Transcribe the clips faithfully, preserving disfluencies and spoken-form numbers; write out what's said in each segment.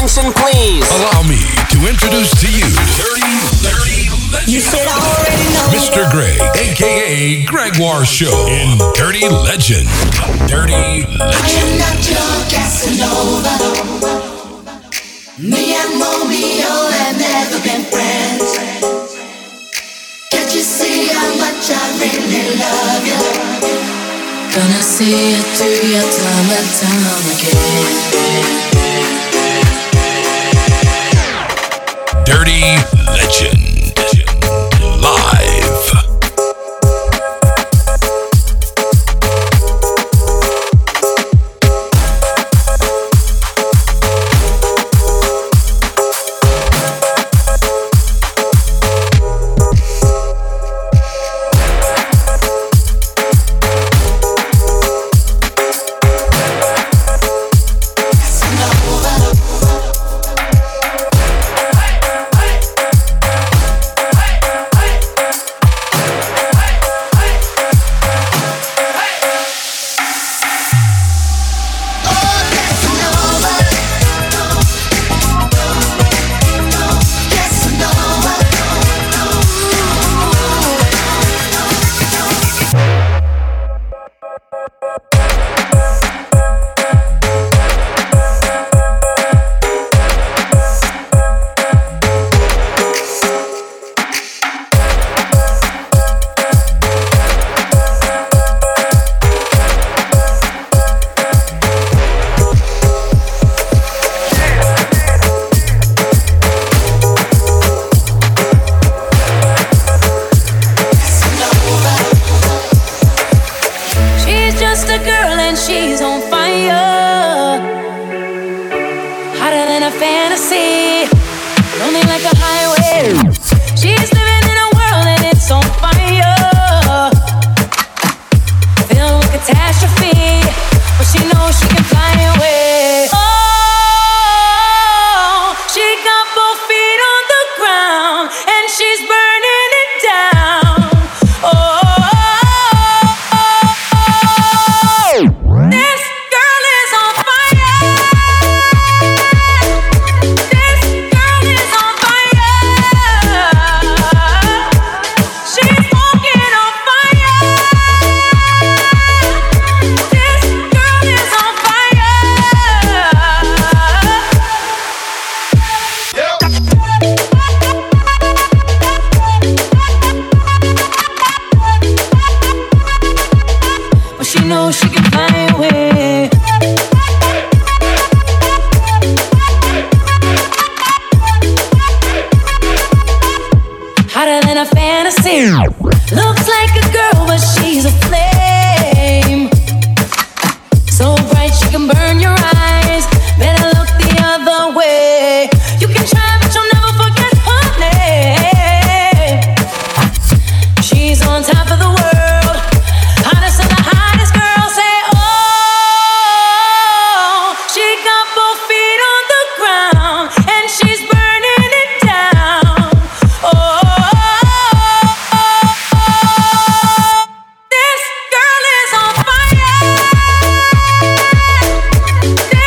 attention, please. Allow me to introduce to you Dirty, Dirty Legend. You said I already know. Mister Greg, a k a. Gregoire Show in Dirty Legend. Dirty Legend. I am not your Casanova. Me and Romeo have never been friends. Can't you see how much I really love you? Gonna see it through your time and time again. Dirty Legend. Live. This girl is on fire.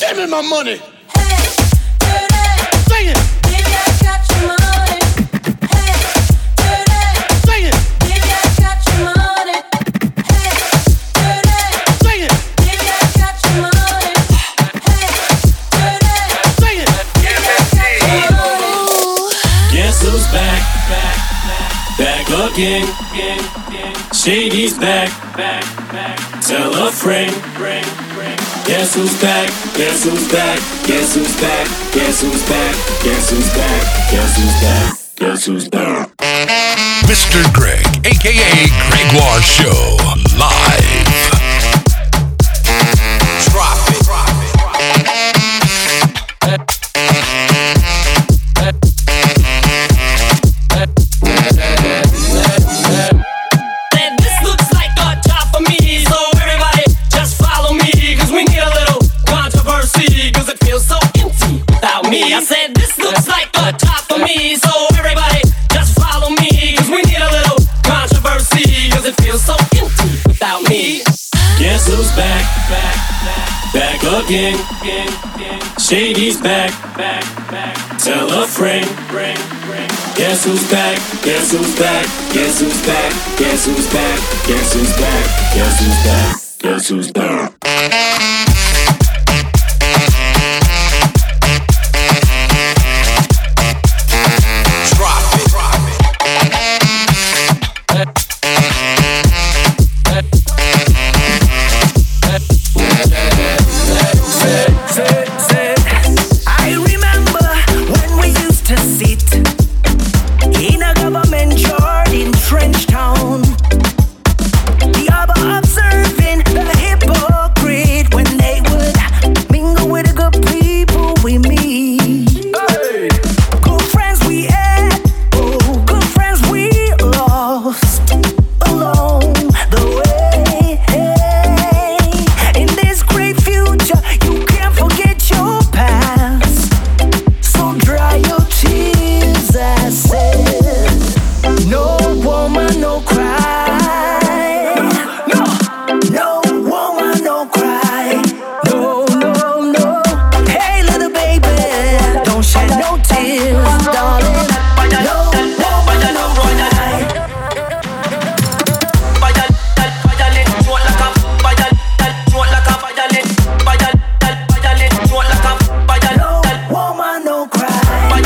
Give me my money. Hey, dirty. Sing it. Baby, I got your money. Hey, dirty. Sing it. Baby, I got your money. Hey, dirty. Sing it. Baby, I got your money. Hey, dirty. Sing it. Baby, I got your money. Guess who's back, back, back, back again, again, again. Shady's back, back, back. Tell a friend, friend, friend. Guess who's back, guess who's back, guess who's back, guess who's back, guess who's back, guess who's back, guess who's back. Mister Greg, aka Gregoire Show, live. Drop it. Said this looks like a job for me, so everybody just follow me, cause we need a little controversy, cause it feels so empty without me. I said this looks like a job for me, so everybody just follow me, cause we need a little controversy, cause it feels so empty without me. Guess who's back, back, back, back again, again, again. Shady's back, back, back. Tell a friend, friend, friend. Guess who's back, guess who's back, guess who's back, guess who's back, guess who's back, guess who's back, guess who's back. Drop it. I remember when we used to sit in a government yard in Trenchtown. The other observing the hypocrite when they would mingle with the good people we meet. Good friends we had, oh, good friends we lost along the way. In this great future, you can't forget your past. So dry your tears, I said. No woman, no cry. No, no woman, no cry. No, no, no. Hey, little baby, don't shed no tears, darling. No woman, no cry. No woman, no cry.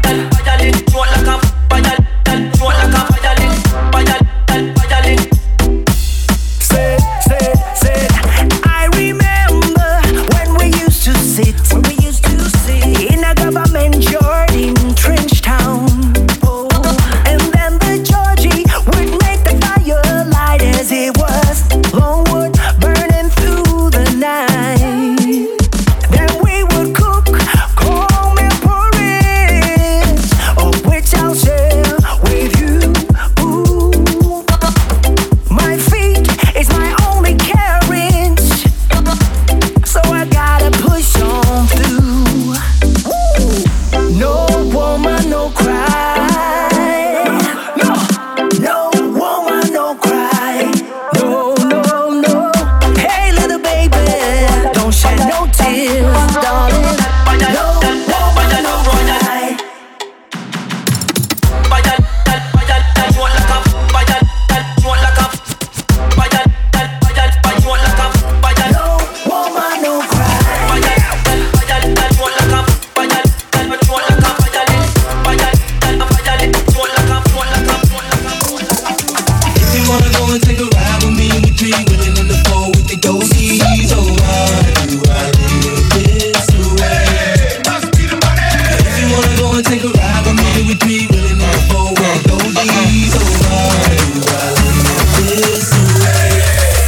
Say, say, say. I remember when we used to sit, when we used to sit in a government yard in Trenchtown. Oh, and then the Georgie would make the fire light as it was longwood burning through the night. Then we would cook cornmeal porridge, of which I'll share with you. Ooh. My feet is my only carriage, so I gotta push on through. No woman, no cry. No, no woman, no cry. No, no, no. Hey, little baby, don't shed no tears, darling. No woman, no cry. No woman, no cry. If you wanna go and take a ride with me, we three willing in the four with the ghosties. Oh, why do I live this way? If you wanna go and take a ride with me, we three willing in the four with the ghosties. Oh, why do I live this way?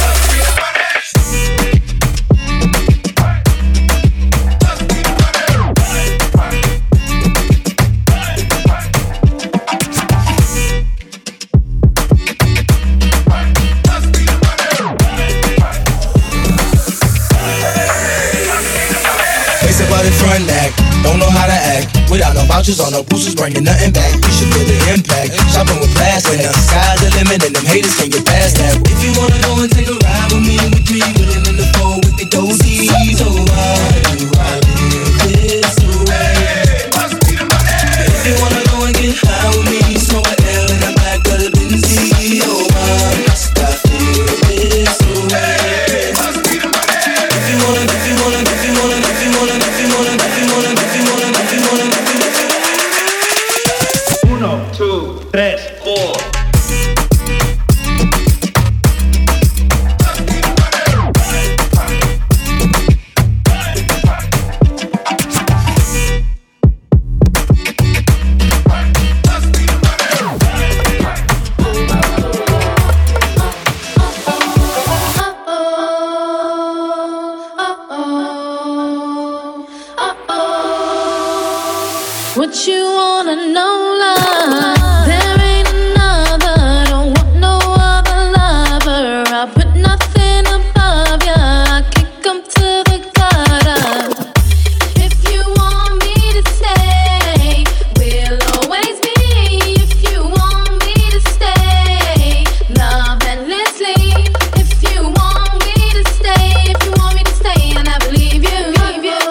Face about the front act, don't know how to act. Without no vouchers or no boosters, bringing nothing back. You should feel the impact. Shopping with plastic, the sky's the limit, and them haters can't get past that. If you wanna go and take a ride with me, we three willing in the four with the ghosties. Oh, why do I What you wanna know, love? There ain't another, don't want no other lover. I'll put nothing above ya, I kick 'em to the gutter. If you want me to stay, we'll always be. If you want me to stay, love endlessly. If you want me to stay, if you want me to stay, I never leave you, leave you.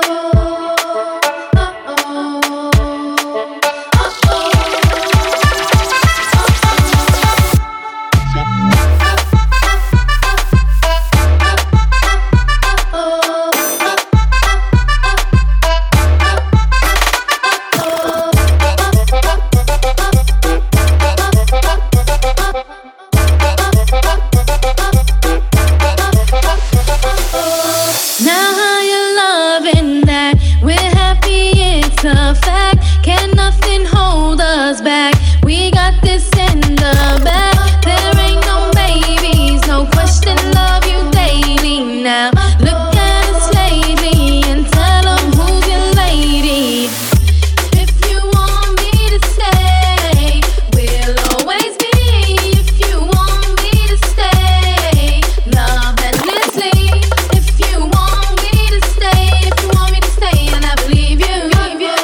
Now how you loving that? We're happy, it's a fact. Can nothing hold us back? We got this in the bag. There ain't no babies, no question, love you daily now. Look at us lately and tell them who's your lady. If you want me to stay, we'll always be. If you want me to stay, love endlessly. If you want me to stay, if you want me to stay, I never leave you, leave you.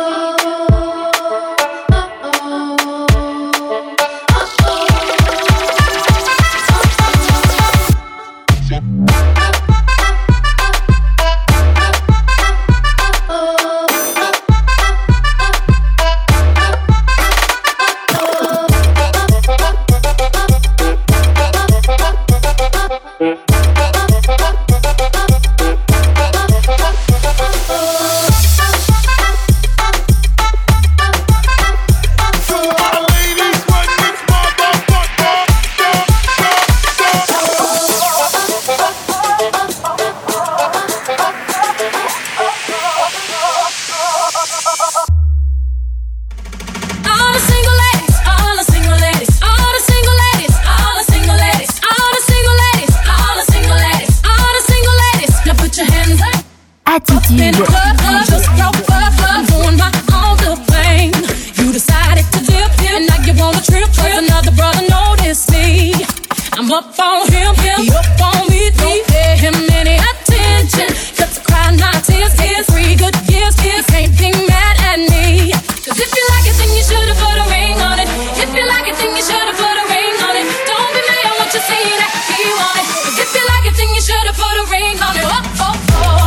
All the single ladies, all the single ladies, all the single ladies, all the single ladies, all the single ladies, all the single ladies, all the single ladies. Now put your hands up. Attitude. In the club, club, just broke up, club, doing my own little thing. You decided to dip, and now you want a trip, cause another brother noticed me. I'm up on him, he up on me, don't pay him any attention. Cause I cry my tears, tears, three good years, you can't be mad at me. Cause if you like it, then you should've put a ring on it. If you like it, then you should've put a ring on it. Don't be mad at what you see that he want it. Cause if you like it, then you should've put a ring on it. Oh, oh, oh.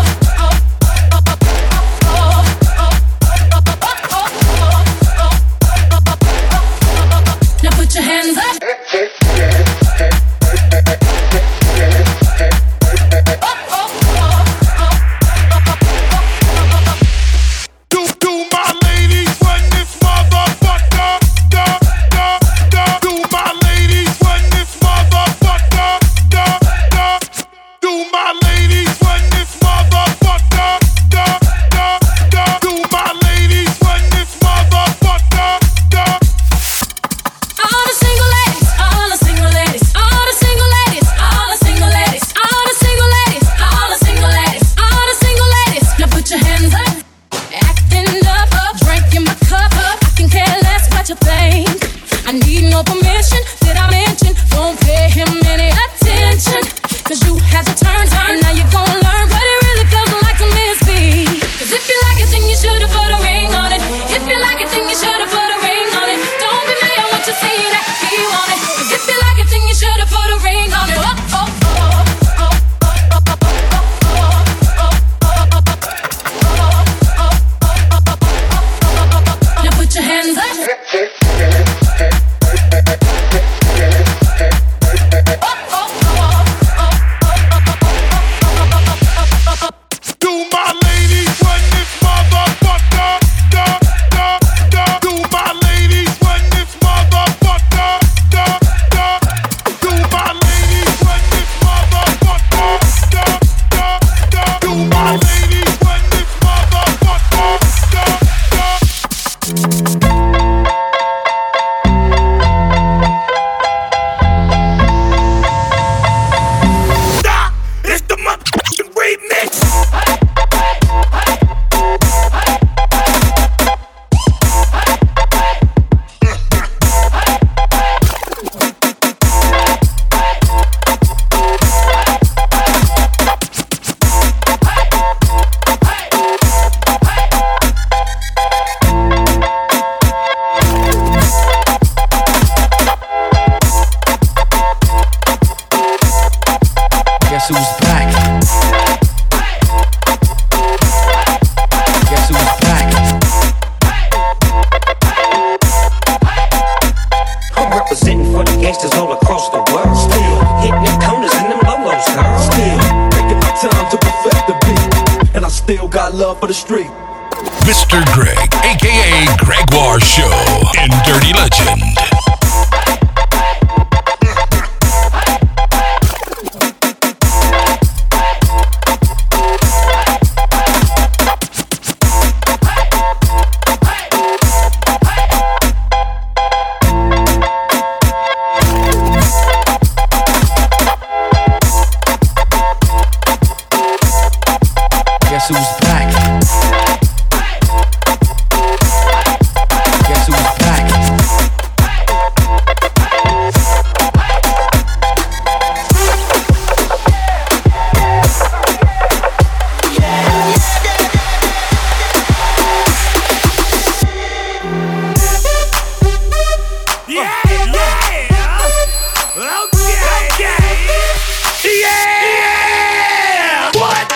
Now put your hands up. got love for the street. Mister Greg, aka Gregoire Show in Dirty Legend. Guess who's back? Guess who's back? Yeah, yeah. Okay, okay. Yeah. What?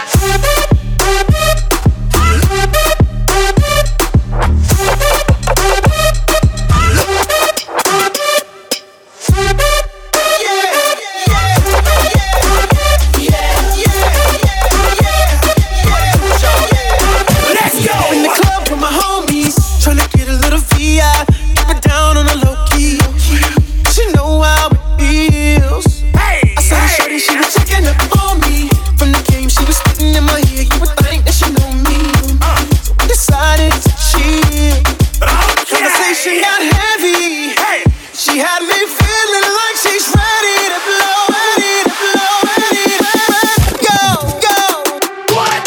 Let's go. In the club with my homies, tryna get a little V I. Keep it down on the low key. She know how it feels. Hey, I saw the shorty, she was checking up on me. From the game, she was spitting in my ear. You would think that she know me. So we decided to chill. Conversation got heavy. Hey. She had me feeling like she's ready to blow, ready to blow, ready to go, go. What?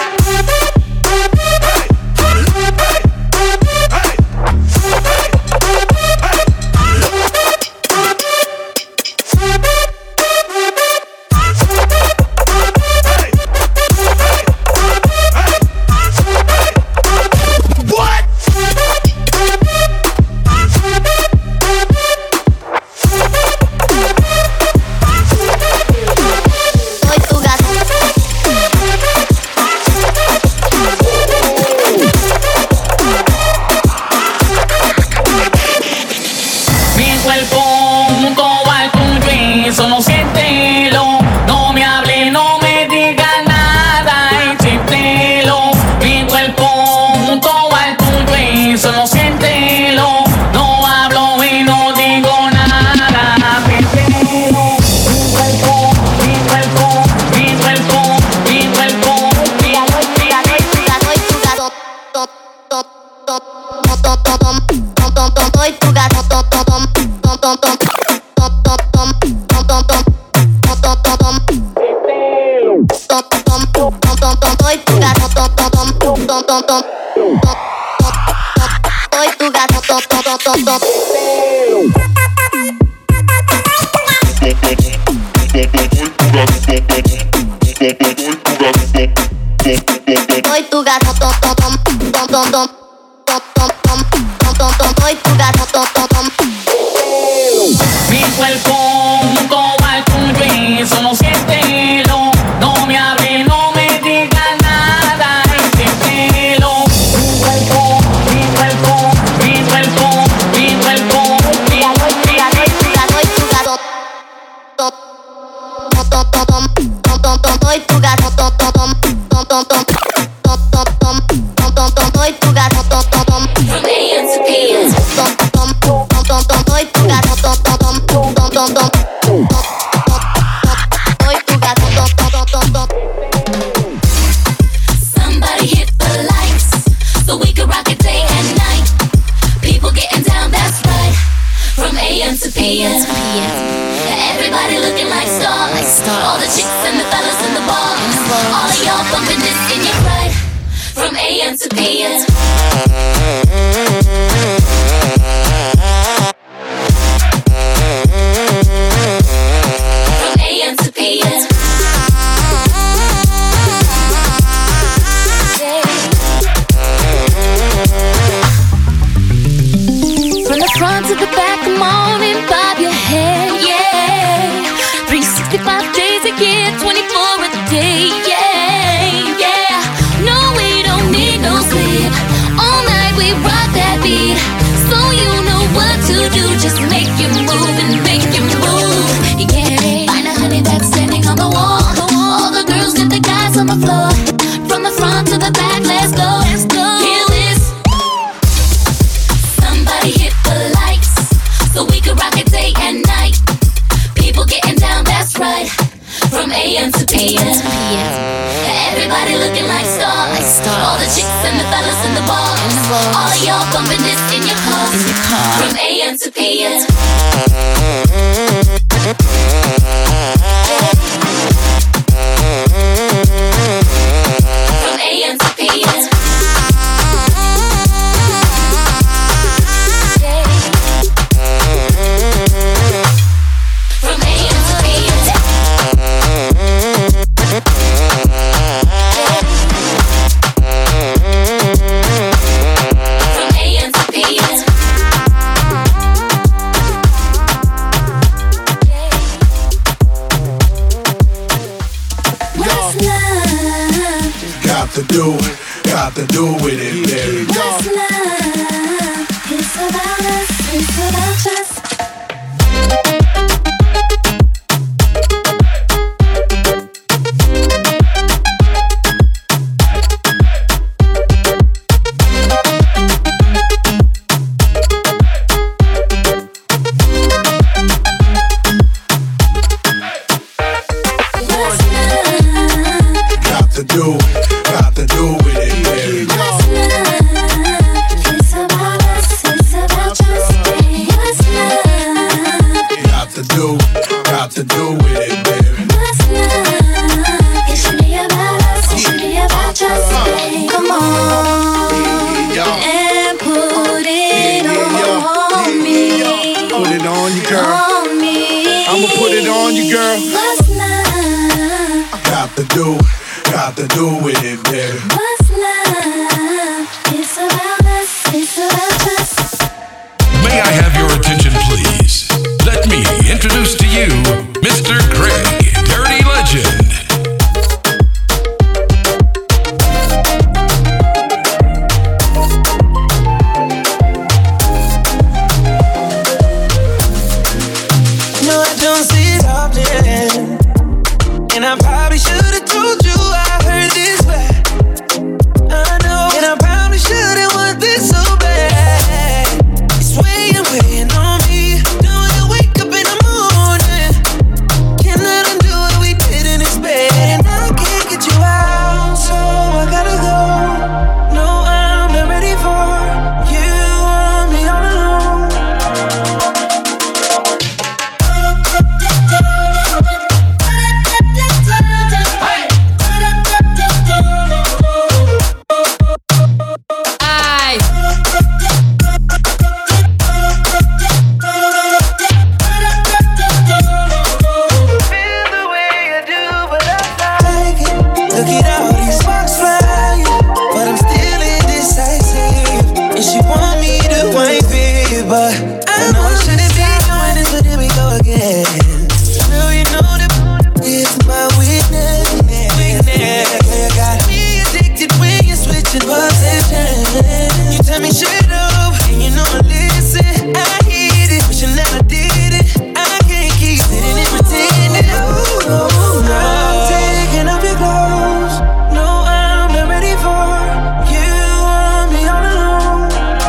What? Soy tu gato. Mi cuerpo junto al tuyo y solo siéntelo. No me hable, no me diga nada y siéntelo. Mi cuerpo junto al tuyo y solo siéntelo. No hablo y no digo nada, siéntelo. Mi cuerpo, mi cuerpo, mi cuerpo, mi cuerpo, mi Soy tu gato. Tom, tom, tom, tom, tom, tom, tom, tom, tom, soy tu gato. Tom, tom, tom, tom, tom, tom, tom, tom, tom, tom, tom, tom, tom, tom, tom, tom. Tom, tom, tom, tom, tom, tom, soy tu gato. Tom, tom, tom, tom, tom, tom, tom, tom, tom, soy tu gato. Tom, tom, tom, tom, tom. Soy tu gato. Tom, tom, tom, tom, tom, tom, tom, tom, tom, tom, tom, tom, soy tu gato. Tom, tom, tom. Mi cuerpo junto al tuyo y solo siéntelo. No me hable, no me diga nada y siéntelo. Mi cuerpo, mi cuerpo, mi cuerpo, mi cuerpo, mi Soy tu gato. Tom, tom, tom, tom, tom, tom, tom, soy tu gato. Tom, tom, tom, tom, tom, tom, tom, tom, tom, tom, tom, tom, soy tu gato. Tom, tom, tom. From A M to P M. Tom, tom, tom, tom, tom, soy tu gato. Tom, tom, tom, tom, tom, tom, tom, tom, tom, soy tu gato. Tom, tom, tom, tom, tom. Somebody hit the lights so we can rock it day and night. People getting down, that's right. From A M to P M. Everybody looking like stars. All the chicks and the fellas in the bars. All of y'all bumping this in your ride. From A M to P M. From A M to P M. From the front to the back, come on and bob your head, yeah. three sixty-five days a year, twenty-four a day, yeah, yeah. No, we don't need no sleep. A M to P M. Everybody looking like stars. All the chicks and the fellas in the bars. All of y'all bumping this in your cars. In your car. From A M to P M. From A M to P M. To do, got to do with it, baby. What's love? It's about us, it's about us. Got to do. Got to do with it, baby. What's love? It's about us, it's about us. What's love? Got to do, got to do with it, baby. What's love? It should be about us, it should be about us. Come on and put it on me. Put it on you, girl. On me. I'ma put it on you, girl. What's love? Got to do, got to do with it, baby. What's love? It's about us, it's about us. May I have your attention, please? Let me introduce to you Mister Greg, Dirty Legend. No, I don't see it often, and I probably should have told you I heard this bad. I know, and I probably shouldn't want this so bad. It's weighing, weighing on me. Doing it, wake up in the morning. Cannot undo what we did in this bed, and I can't get you out, so I gotta go. No, I'm not ready for you. Want me all alone. Look at all these marks flying, but I'm still indecisive. And she want me to wipe it, but I know I shouldn't be doing this, but here we go again. Girl, you know that it's my weakness. You got me addicted when you're switching positions. You tell me shut up, and you know I listen. I hit it, wishing that I did it. I can't keep sitting and pretending. Oh, oh, no. I'm taking off your clothes. No, I'm not ready for you. Want me all alone.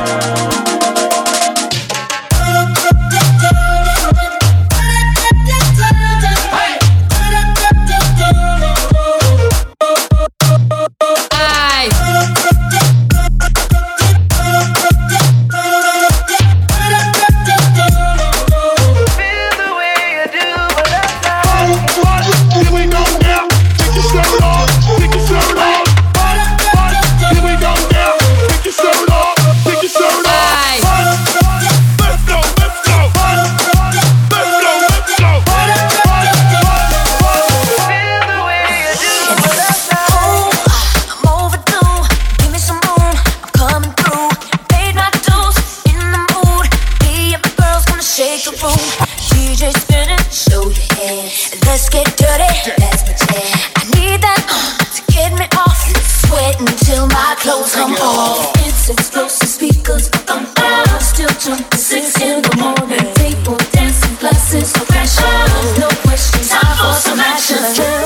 clothes come off. It's explosive speakers come out. Still jumping six in the morning. People dancing, glasses for pressure. No questions, time for some action.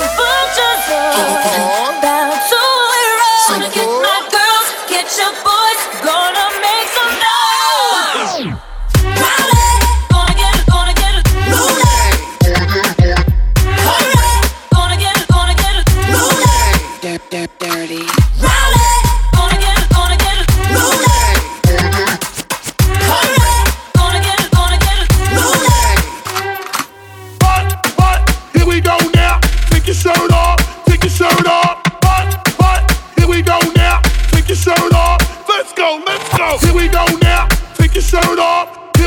Bounce to it roll. So get my girls, get your boys, gonna make some noise. Gonna get it, gonna get it, gonna get it, gonna get it, gonna get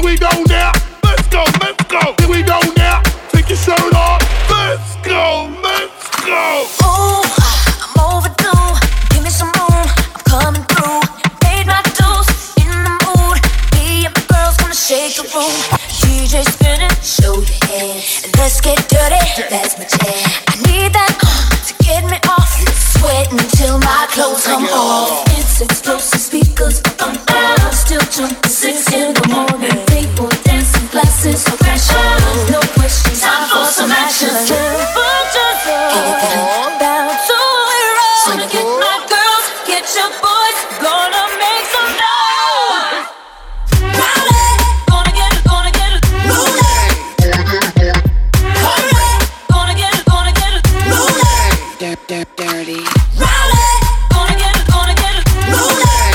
we go now. Let's go, let's go. Here we go now. Take your shirt off. Let's go, let's go. Ooh, I'm overdue. Give me some room. I'm coming through. Paid my dues. In the mood. Me and my girls gonna shake the room. D J spinning. Show your hands. And let's get dirty. That's my jam. I need that uh, to get me off. Sweat until my clothes come off. It's explosive speakers on out. Still jumping six in the morning. People dancing, glasses of fashion. No questions, time for some action. Bounce to it, roll. Gonna get my girls, get your boys. Gonna make some noise. Roll it. Gonna get it, gonna get it. Roll it. Gonna get it, gonna get it. Roll it. Dirty. Roll it. Gonna get it, gonna get it. Roll it.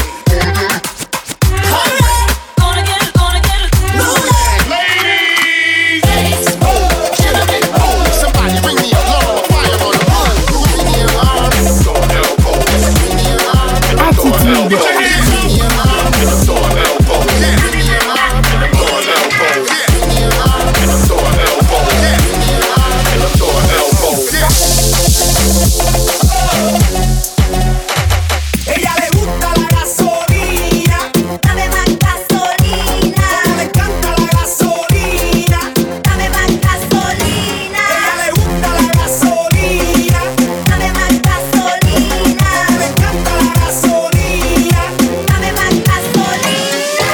Gonna get it, gonna get it. Roll it. Ladies, Gentlemen, somebody bring me a log of fire on the road. Bring me an arm. Throw an elbow. Bring me an arm. Throw an elbow. Bring me an arm. Throw an elbow. Bring me an arm. Throw an elbow. Bring me an arm. Throw an elbow. Bring me an arm. Throw an elbow. Ella le gusta la gasolina, dame más gasolina. le encanta la gasolina. Dame más gasolina. Ella le gusta la gasolina, Dame más gasolina. le encanta la gasolina. Dame más gasolina.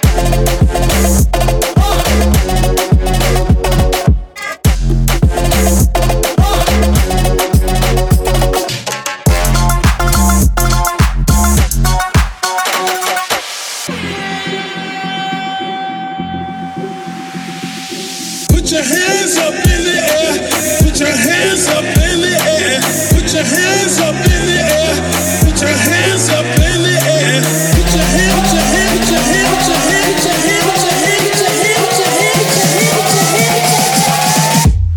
Put your hands up in the air. Put your hands up in the air. Put your hands up in the air. Put your hands up in the air. Put your hand, put your hand, put your hand, put your hand, put your hand, put your hand, put your hand, put your hand, put your hand, put your hand, put your hand.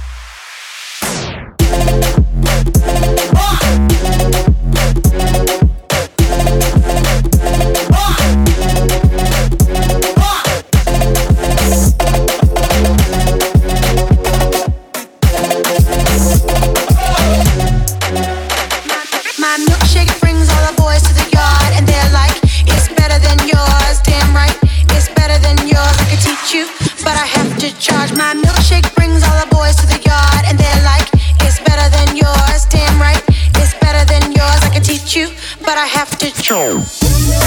My milkshake brings all the boys to the yard, and they're like, it's better than yours. Damn right, it's better than yours. I could teach you, but I have to charge. My milkshake brings all the boys to the yard, and they're like, it's better than yours. Damn right, it's better than yours. I could teach you, but I have to charge.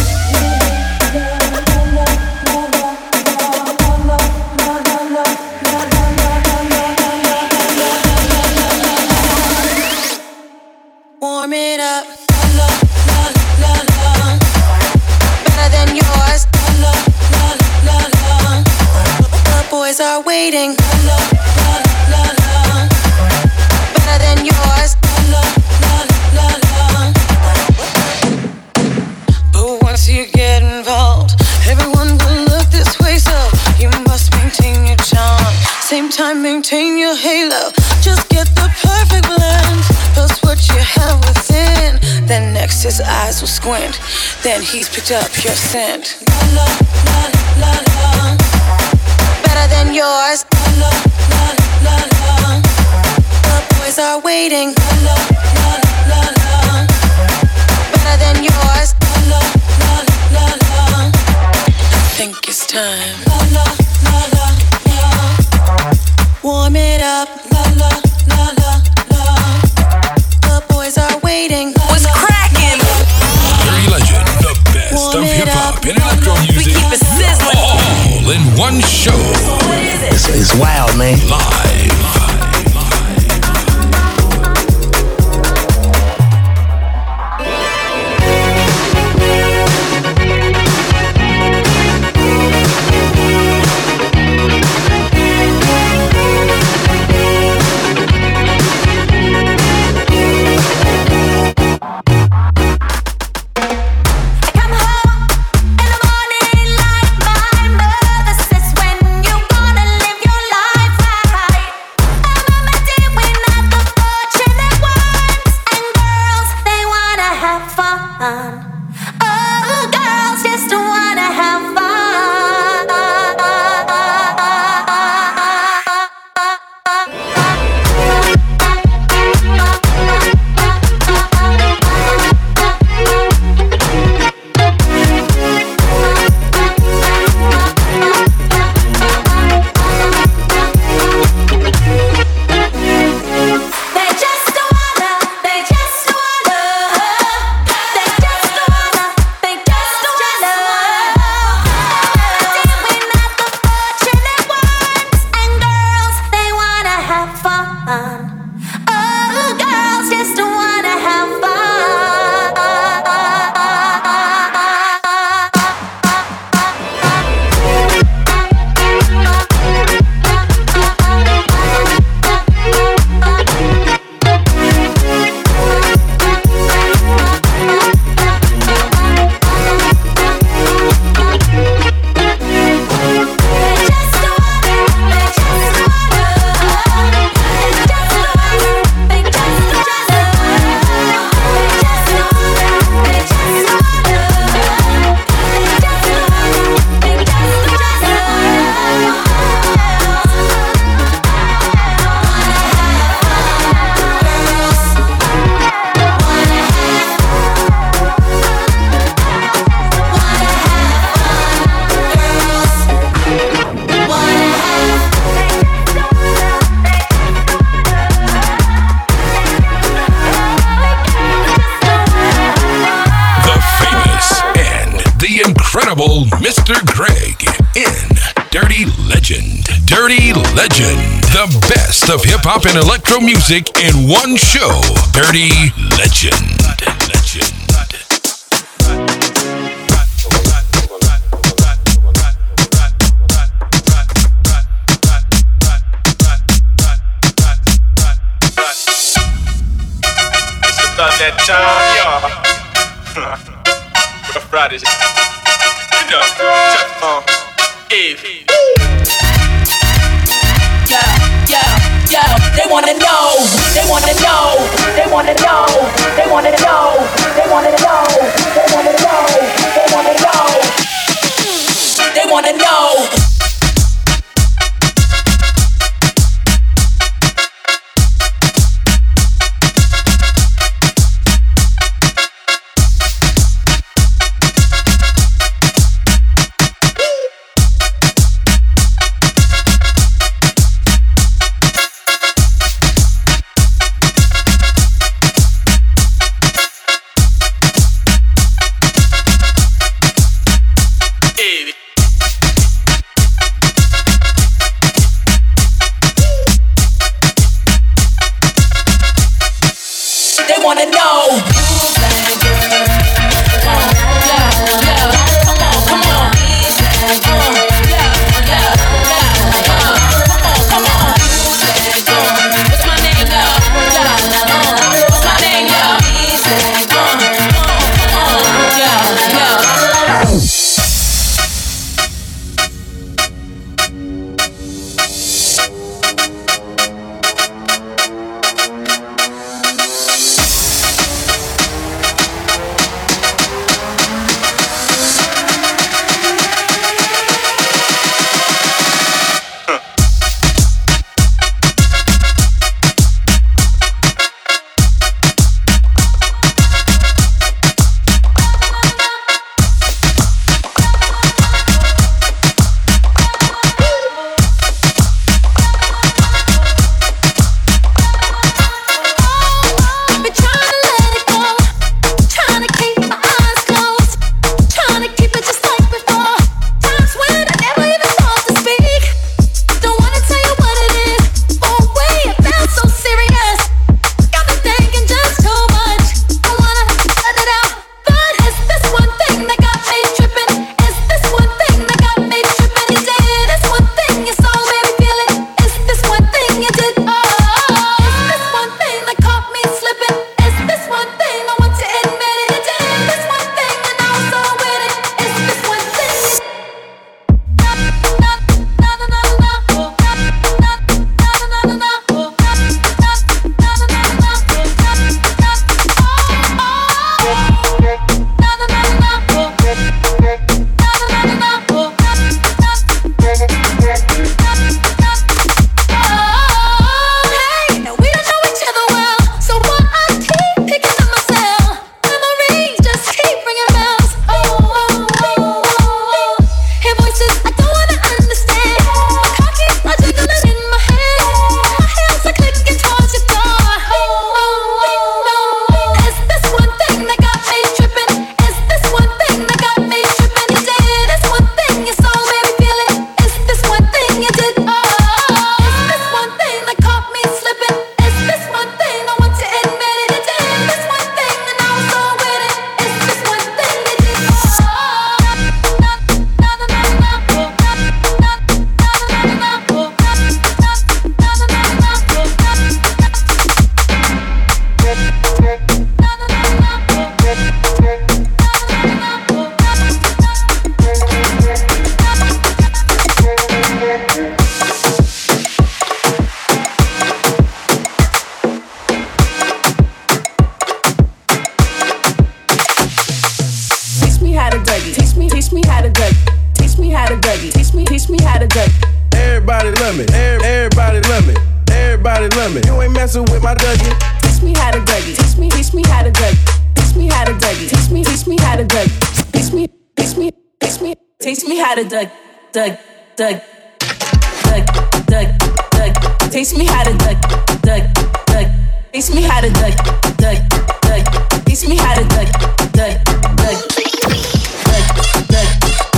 Warm it up. Better than yours. The boys are waiting. Better than yours. But once you get involved, everyone will look this way, so you must maintain your charm. Same time, maintain your halo. Just get the perfect blend. Post what you have within. Then next his eyes will squint. Then he's picked up your scent. Better than yours. The boys are waiting. Better than yours. I think it's time. Warm it up. The boys are waiting. What's cracking? Dirty Legend, the best of hip hop and electro music. We keep it sizzling. All in one show. It's, it's wild, man. Live. Come home in the morning like my mother says, when you gonna live your life right. I'm a doing at the fortunate ones, and girls, they wanna have fun. Oh, girls just wanna have fun. unstoppable Mister Greg in Dirty Legend. Dirty Legend. The best of hip-hop and electro music in one show. Dirty Legend. Legend. That time, y'all. Rough Riders. You know, just, uh, Eve. Yo, yo, yo, they wanna know, they wanna know, they wanna know, they wanna know, they wanna know, they wanna know, they wanna know, they wanna know. Everybody love me. Everybody love me. Everybody love me. You ain't messing with my Dougie. Teach me how to Dougie. Teach me, teach me how to Dougie. Teach me how to Dougie. Teach me, teach me how to Dougie. Teach me, teach me, teach me, teach me how to Doug, Doug, Doug, Doug, Doug, Doug. Teach me how to Doug, Doug, Doug. Teach me how to Doug, Doug, Doug. Teach me how to Doug, Doug, Doug, Doug, Doug.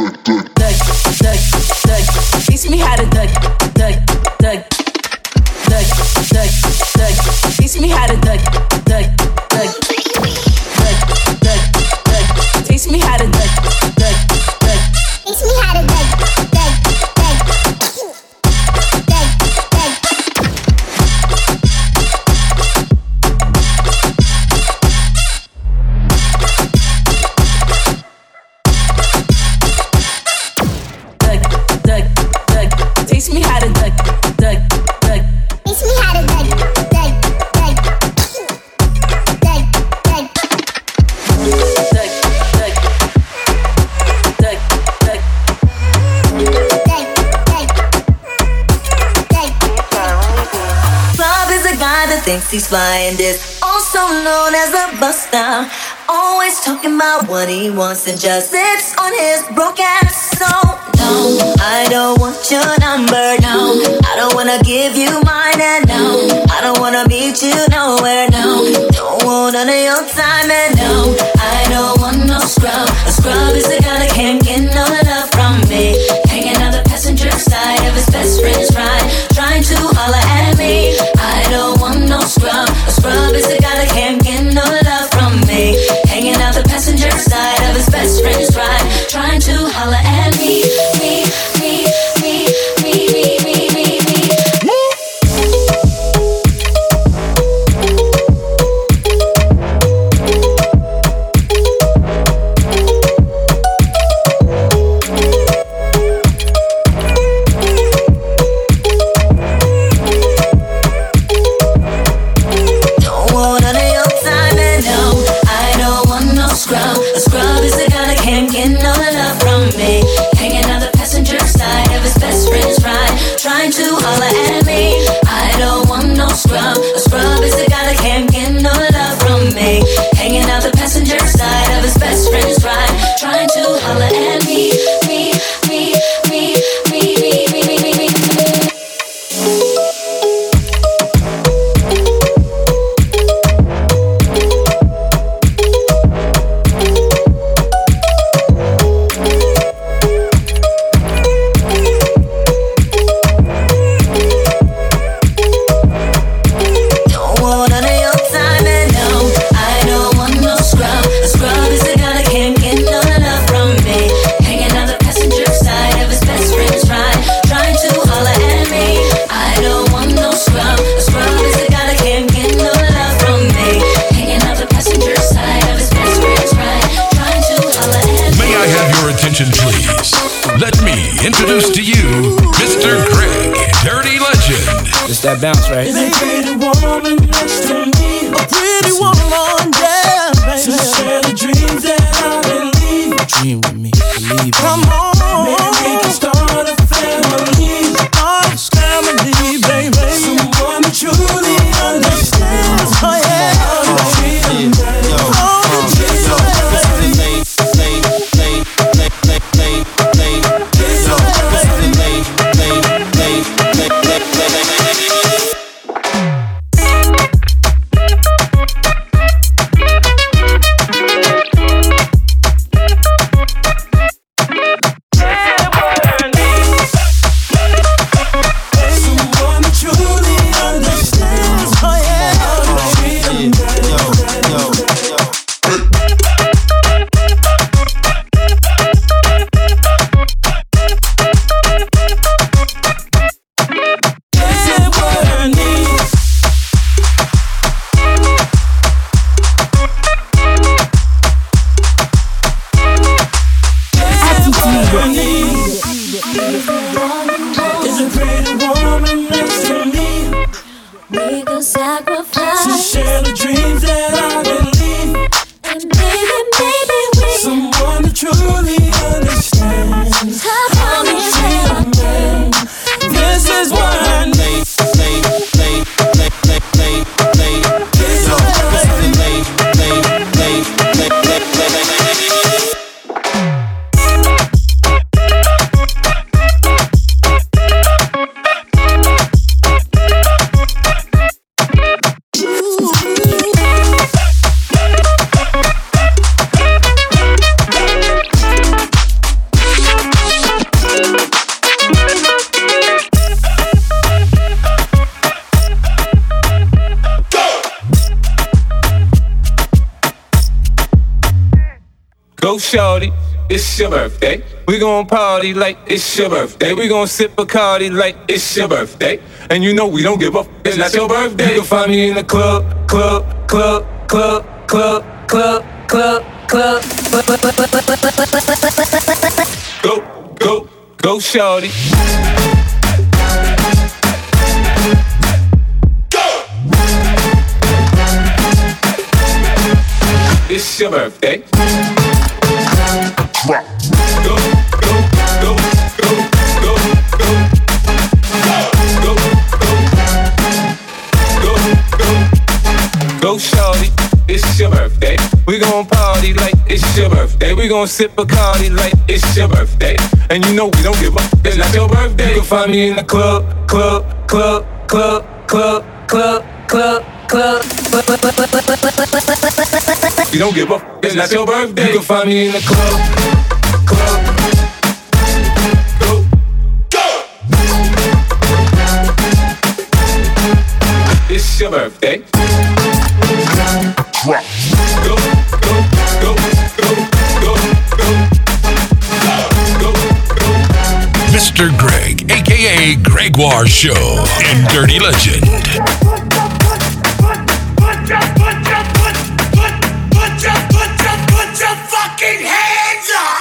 Teach me how to duck, duck, duck, duck, duck, duck. Teach me how to duck, duck, duck, duck, duck, duck. Teach me how to duck, duck, duck. Teach me how to duck, duck, duck, duck, duck. Teach me how to duck, duck, duck. Teach me how to duck, duck, duck, duck, duck, duck, duck, duck, duck, duck, duck. Bob is a guy that thinks he's flying this, also known as a buster. Always talking about what he wants and just sits on his broke ass. So no, I don't want your number. No, I don't wanna give you mine. And no, I don't wanna meet you nowhere. No, don't want none of your time. And no, I don't want no scrub. A scrub is the guy that can't get no love from me. Hanging out the passenger side of his best friend's ride, trying to holler at me. I don't want no scrub. A scrub is the guy that can't get no love from me. Hanging out the passenger side of his best friend's ride, trying to holler at me, me, me, me, me, me, me, me, me. Don't want none of your time, and no, I don't want no scrub. A scrub is the guy that can't get no love from me. Hanging out the passenger side of his best friend's ride, trying to holler at me. I don't want no scrub. A scrub is the guy that can't get no love from me. Hanging out the passenger side of his best friend's ride, trying to holler at me, me, me, me, me, me, me, me, me, me. Don't want none of your time, and no, I don't want no scrub. A scrub is the guy that can't get no love from me. Hanging out the passenger side of his best friend's ride, trying to holler at me. I don't want no scrub. A scrub is the guy that can't get no love from me. Hanging out the passenger side of his best friend's ride, trying to holler at me. May I have your attention, please? Let me introduce to you Mister Greg, Dirty Legend. It's that bounce, right? There's a pretty woman next to me. A pretty woman, yeah, baby. To share the dreams that I believe. Dream with me, believe in Come me. on, maybe we can start a family. Start a family, baby. Someone who truly understands. Oh yeah. All the dreams that all the dreams that someone who truly understands. Oh yeah. All the dreams Say what I need. There's a pretty woman next to me. We could To sacrifice, share the dreams that I believe. and maybe, maybe we Someone who truly understands. have all we have. This is what I need. This is what I need. shorty, it's your birthday. We gon' party like it's your birthday. We gon' sip Bacardi like it's your birthday. And you know we don't give up, it's not your birthday. You can find me in the club, club, club, club, club, club, club, club. Go, go, go, shorty. It's your birthday. Go, go, go, go, go, go, go, go, go, go, go, shorty. It's your birthday. We gon' party like it's your birthday. We gon' sip Bacardi like it's your birthday. And you know we don't give up, it's not your birthday. You can find me in the club, club, club, club, club, club, club, club. You don't give up, it's not your birthday. You can find me in the club, club. Go, go. It's your birthday. Go, go, go, go, go, go, go, go. Mister Greg, aka Gregoire Show and Dirty Legend. Fucking hands up!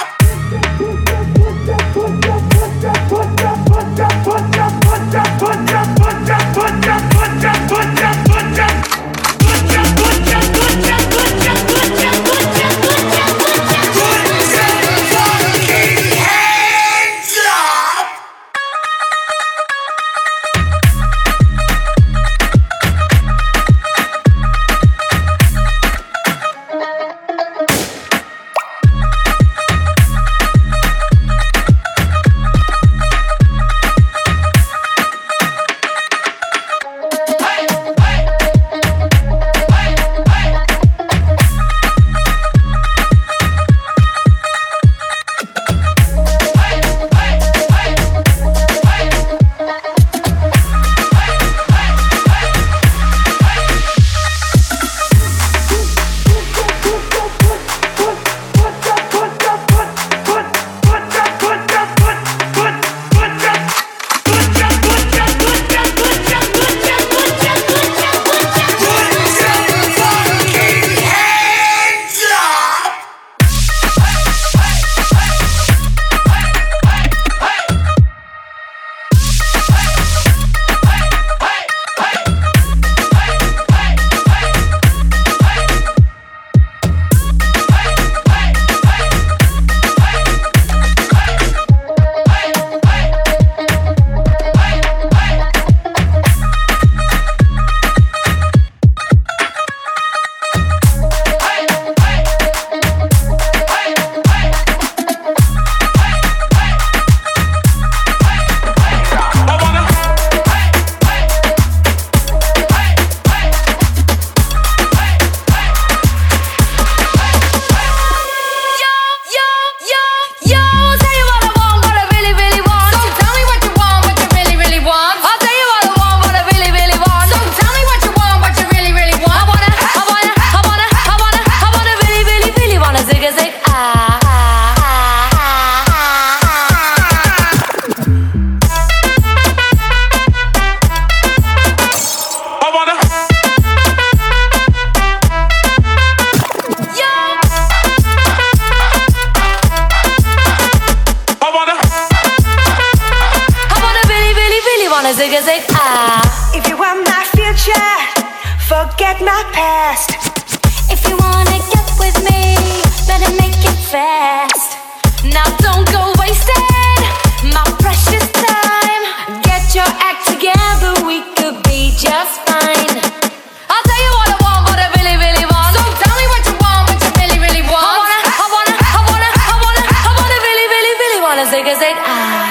forget my past. If you wanna get with me, better make it fast. Now don't go wasting my precious time. Get your act together, we could be just fine. I'll tell you what I want, what I really, really want. So tell me what you want, what you really, really want. I wanna, I wanna, I wanna, I wanna, I wanna really, really, really wanna zig a zig ah.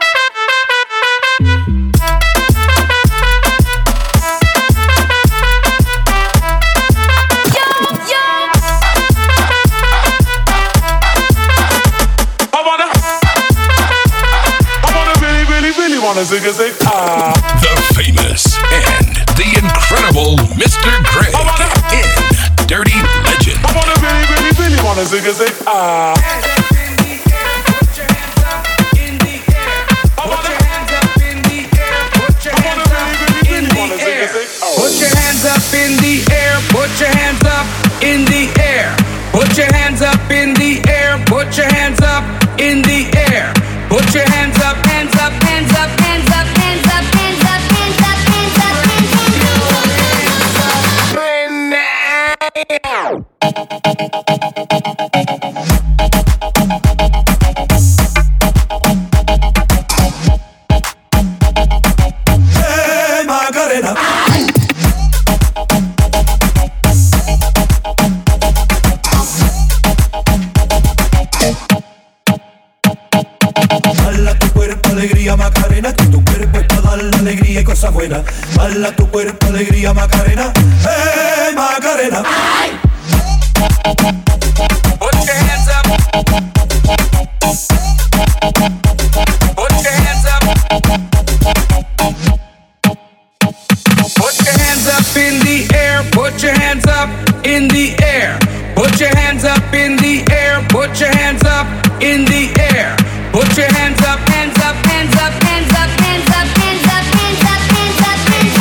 Zig a zig, ah. The famous and the incredible Mister Greg in Dirty Legend. I wanna really, really, really wanna zig a zig ah. Put your hands up in the air, put your hands up in the air. Put your hands up in the air, put your hands up in the air. Put your hands up, hands up, hands up, hands up, hands up, hands up, hands up, hands up, Hey Macarena. Bala tu cuerpo, alegría, Macarena, que tu cuerpo es para dar la alegría y cosas buenas. Bala tu cuerpo, alegría, Macarena, hey Macarena. Put your hands up. Put your hands up. Put your hands up in the air. Put your hands up in the air. Put your hands up in the air. Put your hands up in the air. Put your hands up, hands up, hands up, hands up, hands up, hands up, hands up, hands up, hands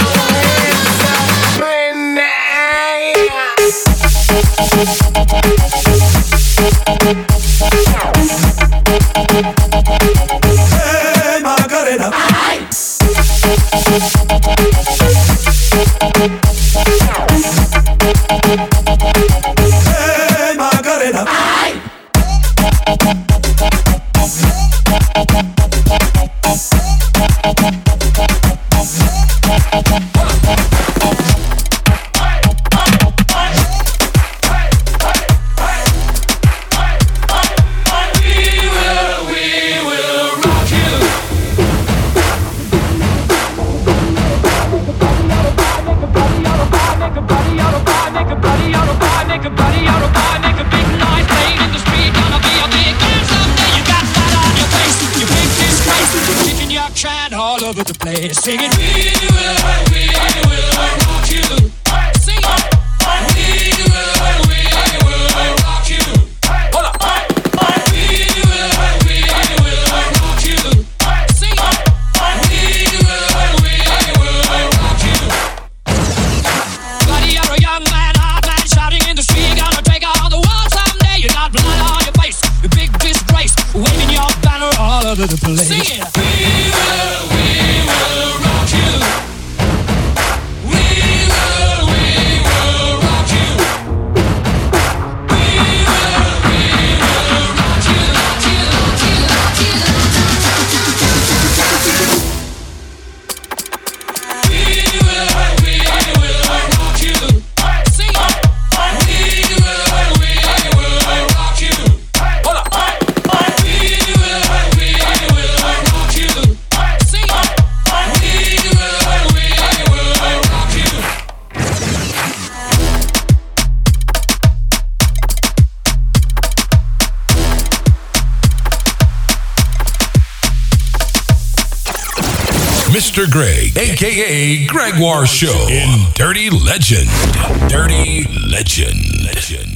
Hey Macarena. Hey Macarena. All over the place, singing, we will, we will rock you. Sing it. We will, we will rock you. Hold up. We will, we will rock you. Sing it. We will, we will rock you. Buddy, you're a young man, hot man, shouting in the street, gonna take on the world someday. You got blood on your face, your big disgrace, waving your banner all over the place. Sing it. We will, we will rock you. We will, we will rock you. We will, we will rock you, rock you, rock you, rock you. We will, we will rock you. Sing it. We will, we will rock you. Hold up. We will, we will rock you. Sing it. We will, we will rock you. Mister Greg, aka Gregoire Show in Dirty Legend. Dirty Legend. Legend.